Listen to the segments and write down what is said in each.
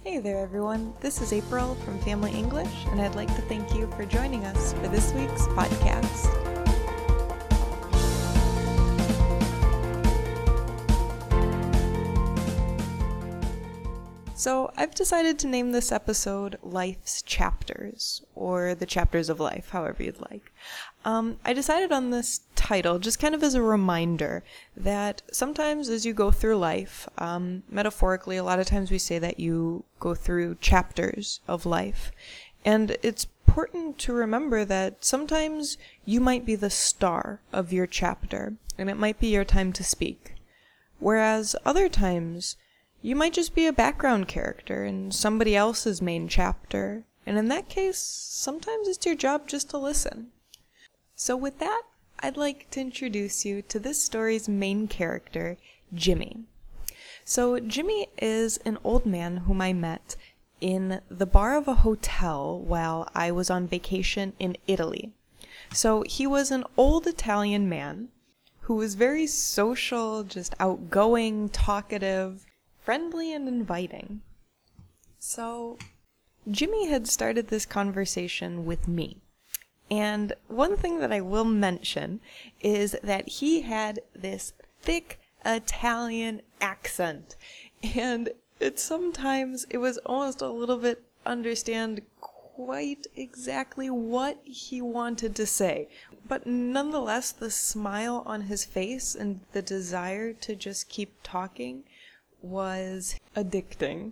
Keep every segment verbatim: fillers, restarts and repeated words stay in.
Hey there everyone, this is April from Family English, and I'd like to thank you for joining us for this week's podcast. So I've decided to name this episode Life's Chapters, or The Chapters of Life, however you'd like. Um, I decided on this title just kind of as a reminder that sometimes as you go through life, um, metaphorically, a lot of times we say that you go through chapters of life. And it's important to remember that sometimes you might be the star of your chapter, and it might be your time to speak. Whereas other times, you might just be a background character in somebody else's main chapter, and in that case, sometimes it's your job just to listen. So with that, I'd like to introduce you to this story's main character, Jimmy. So Jimmy is an old man whom I met in the bar of a hotel while I was on vacation in Italy. So he was an old Italian man who was very social, just outgoing, talkative, friendly and inviting. So Jimmy had started this conversation with me. And one thing that I will mention is that he had this thick Italian accent. And it sometimes, it was almost a little bit understand quite exactly what he wanted to say. But nonetheless, the smile on his face and the desire to just keep talking was addicting.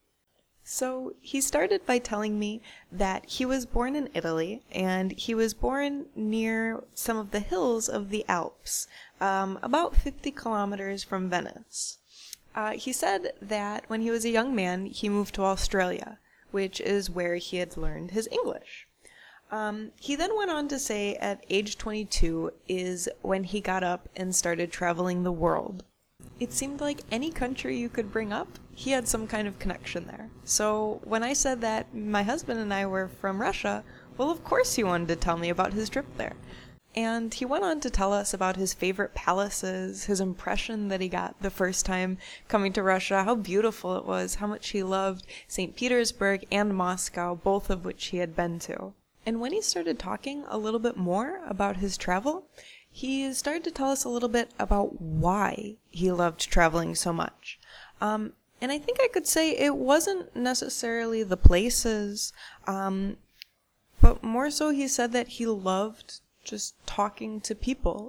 So he started by telling me that he was born in Italy, and he was born near some of the hills of the Alps, um, about fifty kilometers from Venice. Uh, he said that when he was a young man, he moved to Australia, which is where he had learned his English. Um, he then went on to say at age twenty-two is when he got up and started traveling the world. It seemed like any country you could bring up, he had some kind of connection there. So when I said that my husband and I were from Russia, well, of course he wanted to tell me about his trip there. And he went on to tell us about his favorite palaces, his impression that he got the first time coming to Russia, how beautiful it was, how much he loved Saint Petersburg and Moscow, both of which he had been to. And when he started talking a little bit more about his travel, he started to tell us a little bit about why he loved traveling so much. Um, and I think I could say it wasn't necessarily the places, um, but more so he said that he loved just talking to people,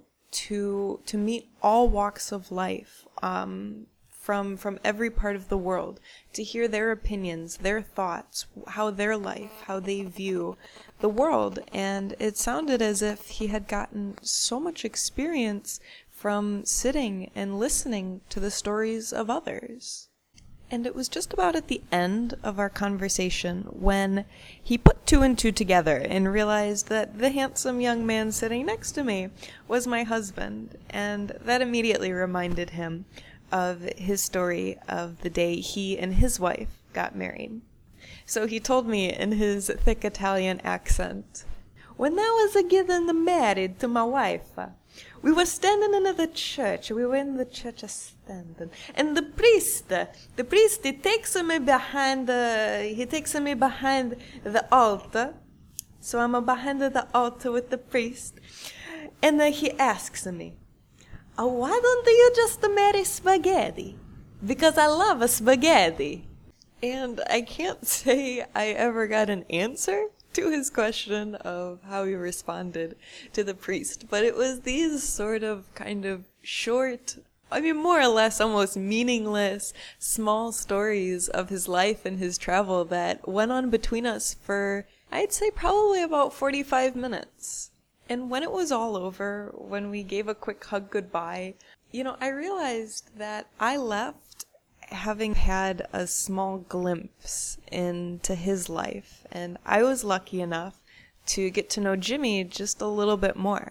to to meet all walks of life, um, from from every part of the world, to hear their opinions, their thoughts, how their life, how they view the world. And it sounded as if he had gotten so much experience from sitting and listening to the stories of others. And it was just about at the end of our conversation when he put two and two together and realized that the handsome young man sitting next to me was my husband, and that immediately reminded him of his story of the day he and his wife got married. So he told me in his thick Italian accent, "When I was getting married to my wife, we were standing in the church. We were in the church standing, and the priest, the priest, he takes me behind. Uh, he takes me behind the altar. So I'm behind the altar with the priest, and uh, he asks me, oh, why don't you just marry spaghetti? Because I love spaghetti." And I can't say I ever got an answer to his question of how he responded to the priest, but it was these sort of kind of short, I mean, more or less almost meaningless, small stories of his life and his travel that went on between us for, I'd say, probably about forty-five minutes. And when it was all over, when we gave a quick hug goodbye, you know, I realized that I left having had a small glimpse into his life, and I was lucky enough to get to know Jimmy just a little bit more.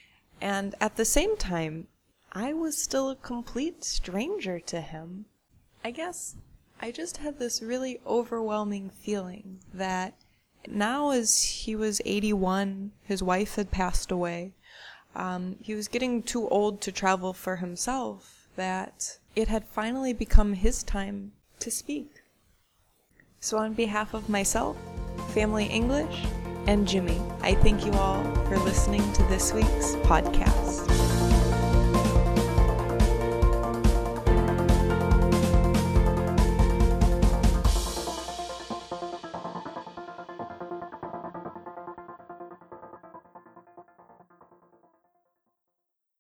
And at the same time, I was still a complete stranger to him. I guess I just had this really overwhelming feeling that now, as he was eighty-one, his wife had passed away, um, he was getting too old to travel for himself, that it had finally become his time to speak. So on behalf of myself, Family English, and Jimmy, I thank you all for listening to this week's podcast.